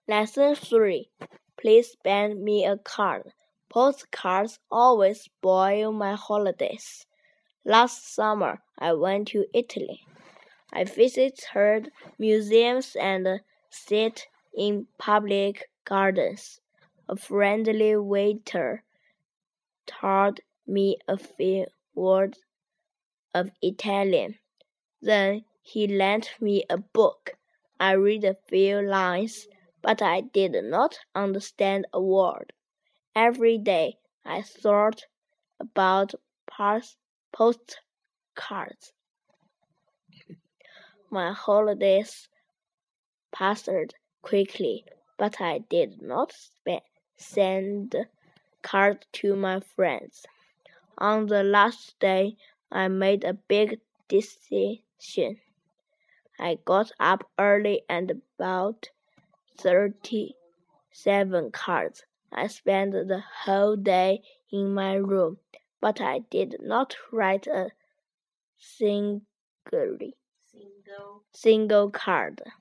Lesson 3. Please send me a card. Postcards always spoil my holidays. Last summer, I went to Italy. I visited museums and sat in public gardens. A friendly waiter taught me a few words of Italian. Then he lent me a book. I read a few lines, but I did not understand a word. Every day I thought about postcards. My holidays passed quickly, but I did not send cards to my friends. On the last day, I made a big decision. I got up early and bought 37 cards. I spent the whole day in my room, but I did not write a single card.